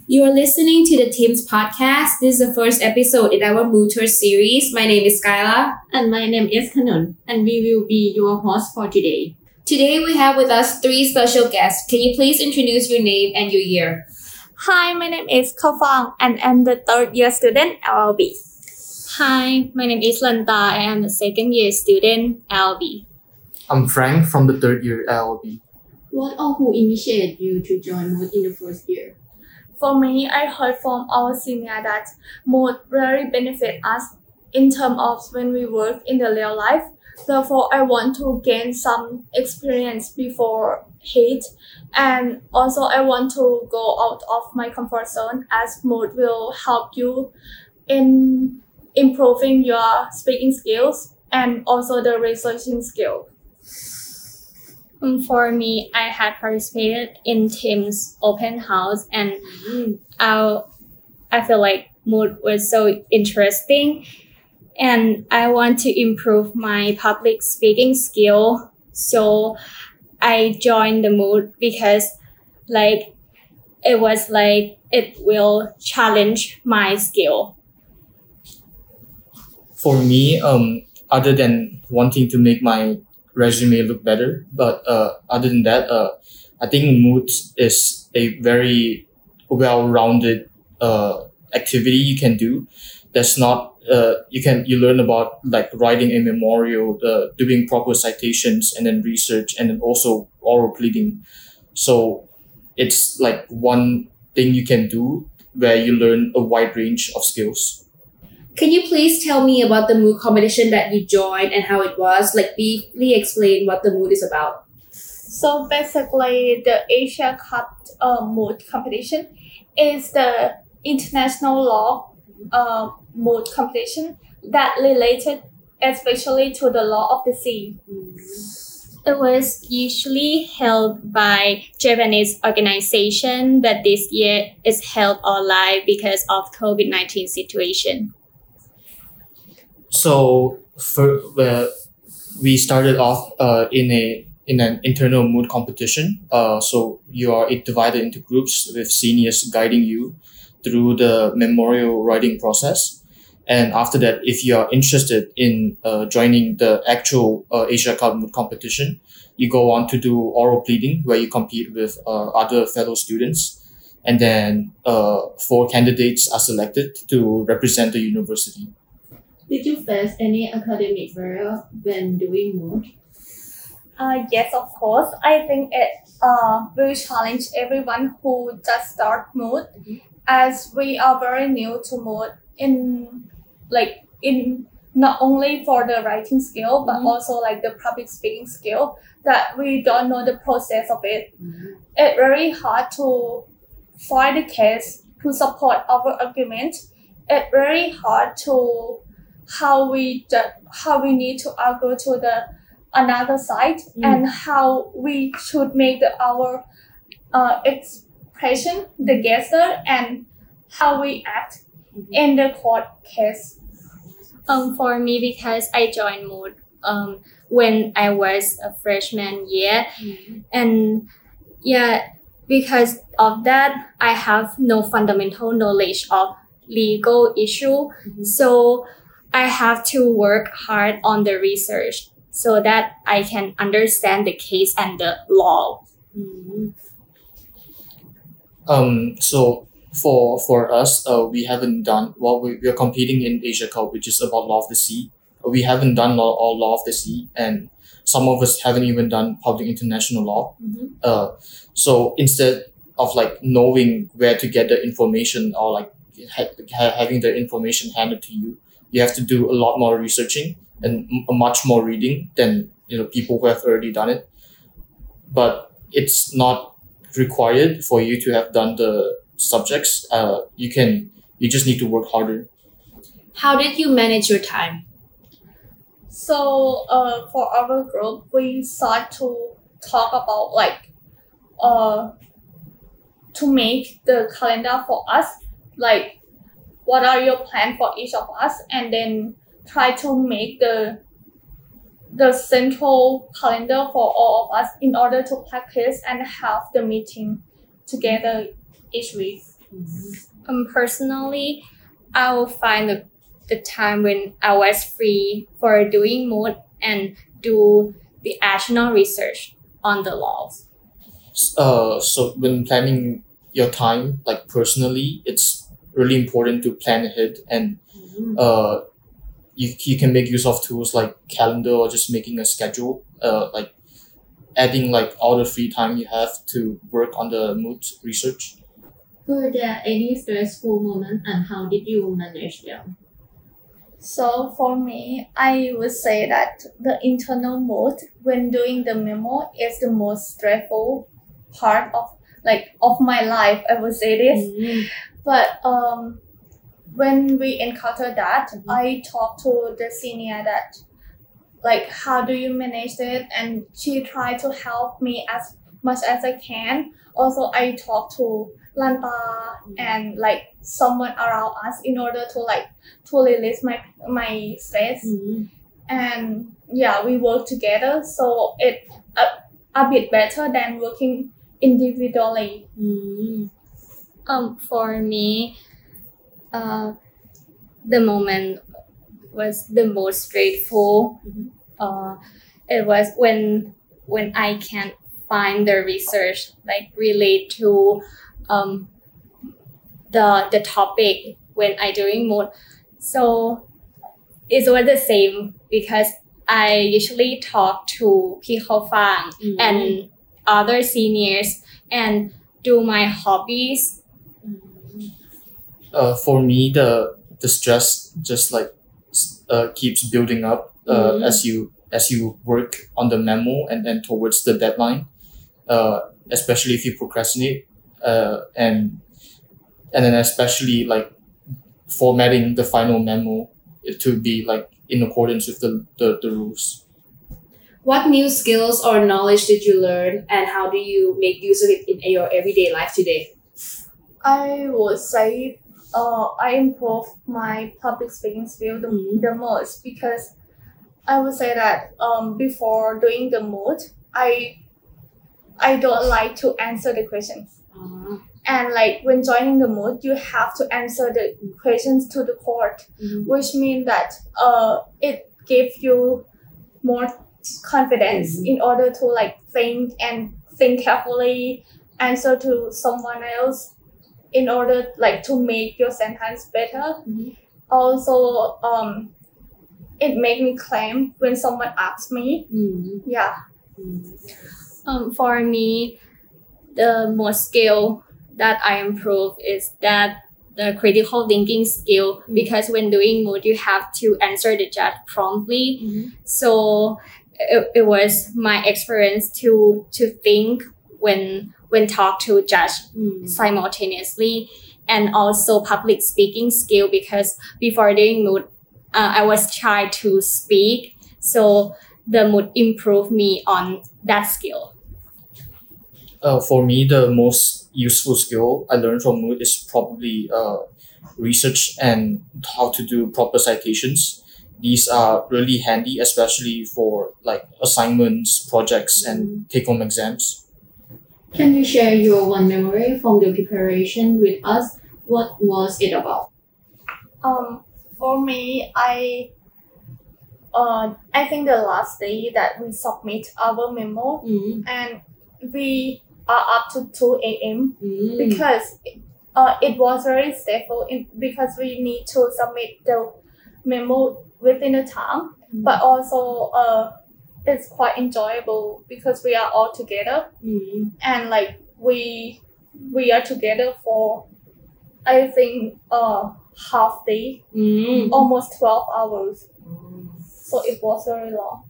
You are listening to the Teams podcast. This is the first episode in our Mood Tour series. My name is Skyla. And my name is Kanun, and we will be your host for today. Today we have with us three special guests. Can you please introduce your name and your year? Hi, my name is Khao Fang and I'm the third year student LLB. Hi, my name is Lanta. I am a second year student LB. I'm Frank from the third year LLB. What or who initiated you to join Mood in the first year? For me, I heard from our senior that mood really benefit us in terms of when we work in the real life. Therefore, I want to gain some experience before hate, and also I want to go out of my comfort zone as mood will help you in improving your speaking skills and also the researching skill. For me, I had participated in Tim's open house, and I feel like Mood was so interesting, and I want to improve my public speaking skill. So I joined the Mood because it will challenge my skill. For me, other than wanting to make my resume look better, but other than that, I think Mood is a very well-rounded activity you can do. That's not you learn about like writing a memorial, doing proper citations, and then research, and then also oral pleading. So it's like one thing you can do where you learn a wide range of skills. Can you please tell me about the mood competition that you joined and how it was? Like briefly explain what the mood is about. So basically, the Asia Cup mood competition is the international law mood competition that related especially to the law of the sea. It was usually held by Japanese organization, but this year it's held online because of COVID-19 situation. So we started off in an internal mood competition. So you are divided into groups with seniors guiding you through the memorial writing process. And after that, if you are interested in joining the actual Asia Cup mood competition, you go on to do oral pleading where you compete with other fellow students. And then 4 candidates are selected to represent the university. Did you face any academic barrier when doing Mood? Yes, of course. I think it will challenge everyone who just start mood, as we are very new to mood in not only for the writing skill but also like the public speaking skill that we don't know the process of it. It's very hard to find a case to support our argument. It's very hard to how we need to argue to the another side and how we should make our expression the gesture and how we act in the court case. For me, because I joined Mood when I was a freshman year, and because of that, I have no fundamental knowledge of legal issue, so I have to work hard on the research so that I can understand the case and the law. So for us, we haven't done we are competing in Asia Cup, which is about law of the sea. We haven't done law of the sea, and some of us haven't even done public international law. So instead of like knowing where to get the information or like having the information handed to you, you have to do a lot more researching and much more reading than people who have already done it. But it's not required for you to have done the subjects. You just need to work harder. How did you manage your time? So for our group, we start to talk about to make the calendar for us, like what are your plans for each of us, and then try to make the central calendar for all of us in order to practice and have the meeting together each week. Personally, I will find the time when I was free for doing mood and do the additional research on the laws. So when planning your time, like personally, it's really important to plan ahead, and uh, you can make use of tools like calendar or just making a schedule, like adding like all the free time you have to work on the mood research. Were there any stressful moments and how did you manage them? So for me, I would say that the internal mode when doing the memo is the most stressful part of my life. I would say this, but when we encounter that, I talk to the senior that like how do you manage it, and she tried to help me as much as I can. Also, I talk to Lanta and like someone around us in order to release my stress. And yeah, we work together, so it a bit better than working individually. For me, the moment was the most straightful. It was when I can't find the research like relate to the topic when I doing mood. So it was the same because I usually talk to Pi Khao Fang and other seniors and do my hobbies. For me, the stress just like keeps building up as you work on the memo and towards the deadline. Especially if you procrastinate, and then especially like formatting the final memo to be like in accordance with the rules. What new skills or knowledge did you learn, and how do you make use of it in your everyday life today? I would say I improved my public speaking skill the most, because I would say that before doing the mood, I don't like to answer the questions. And like when joining the mood, you have to answer the questions to the court, which means that it gives you more confidence in order to like think carefully, answer to someone else in order like to make your sentence better. Also, it made me calm when someone asks me. Yeah. For me, the most skill that I improve is that the critical thinking skill, because when doing mood, you have to answer the judge promptly. So it was my experience to think when talk to judge simultaneously, and also public speaking skill, because before doing mood, I was shy to speak. So the mood improved me on that skill. For me, the most useful skill I learned from Mood is probably research and how to do proper citations. These are really handy, especially for like assignments, projects, and take-home exams. Can you share your one memory from the preparation with us? What was it about? For me, I think the last day that we submit our memo, and we are up to 2 a.m. because it was very stressful because we need to submit the memo within the time, but also it's quite enjoyable because we are all together, and like we are together for I think half day, almost 12 hours. So it was very long.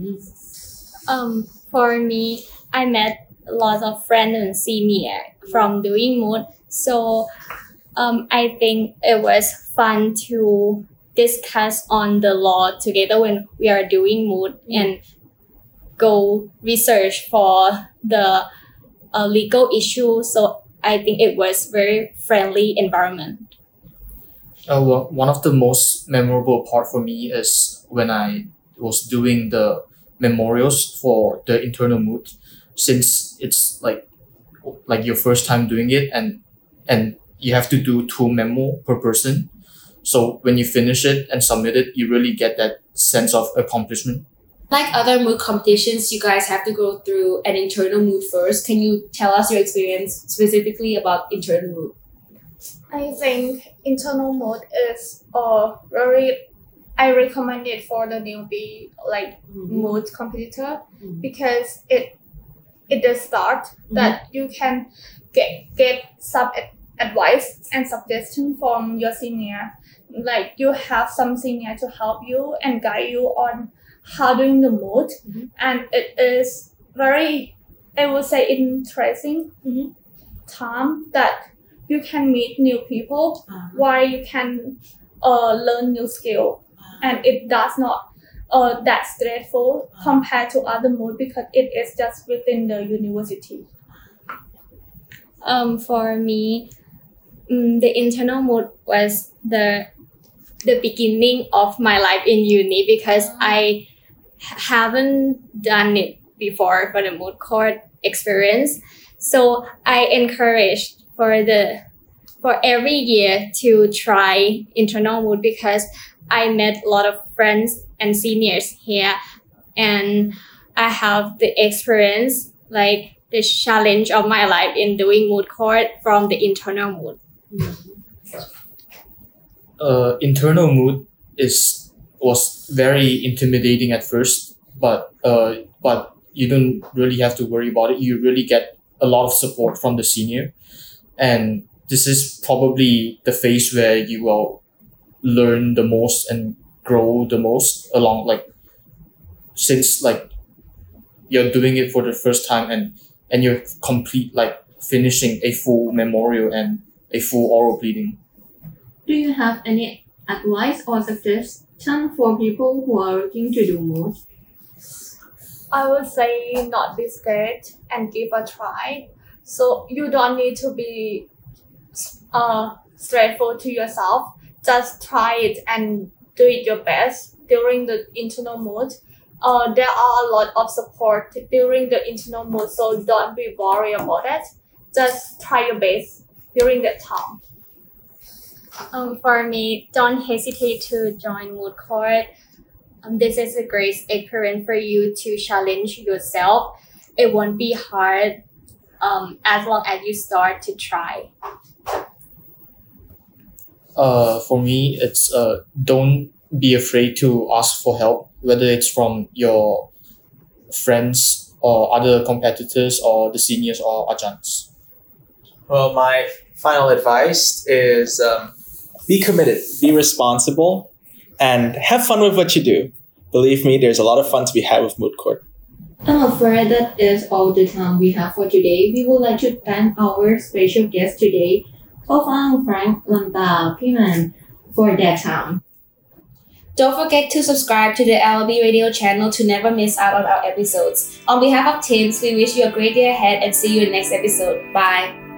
For me, I met lots of friends and senior from doing mood. So I think it was fun to discuss on the law together when we are doing mood and go research for the legal issue. So I think it was very friendly environment. One of the most memorable part for me is when I was doing the memorials for the internal mood, since it's like your first time doing it, and you have to do 2 memo per person. So when you finish it and submit it, you really get that sense of accomplishment. Like other mood competitions, you guys have to go through an internal mood first. Can you tell us your experience specifically about internal mood? I think internal mode is very. I recommend it for the newbie mood competitor because it does start that you can get some advice and suggestion from your senior. Like you have some senior to help you and guide you on how doing the mood, and it is very, I would say, interesting time that you can meet new people while you can learn new skill, and it does not that stressful compared to other mood because it is just within the university. For me, the internal mood was the beginning of my life in uni because I haven't done it before for the mood court experience. So I encouraged for every year to try internal mood because I met a lot of friends and seniors here, and I have the experience, like the challenge of my life in doing mood court from the internal mood. Internal mood was very intimidating at first, but you don't really have to worry about it. You really get a lot of support from the senior, and this is probably the phase where you will learn the most and grow the most along, since you're doing it for the first time and you're finishing a full memorial and a full oral pleading. Do you have any advice or suggestion for people who are looking to do mood? I would say not be scared and give a try. So you don't need to be straightforward to yourself. Just try it and do it your best during the internal mood. There are a lot of support during the internal mood, so don't be worried about it. Just try your best during that time. For me, don't hesitate to join mood court. This is a great experience for you to challenge yourself. It won't be hard as long as you start to try. For me, it's don't be afraid to ask for help, whether it's from your friends or other competitors or the seniors or adjuncts. Well, my final advice is be committed, be responsible, and have fun with what you do. Believe me, there's a lot of fun to be had with mood court. I'm afraid that is all the time we have for today. We would like to thank our special guest today, Phang, Frank, Lanta, Piman, for their time. Don't forget to subscribe to the LLB Radio channel to never miss out on our episodes. On behalf of Teams, we wish you a great day ahead and see you in the next episode. Bye.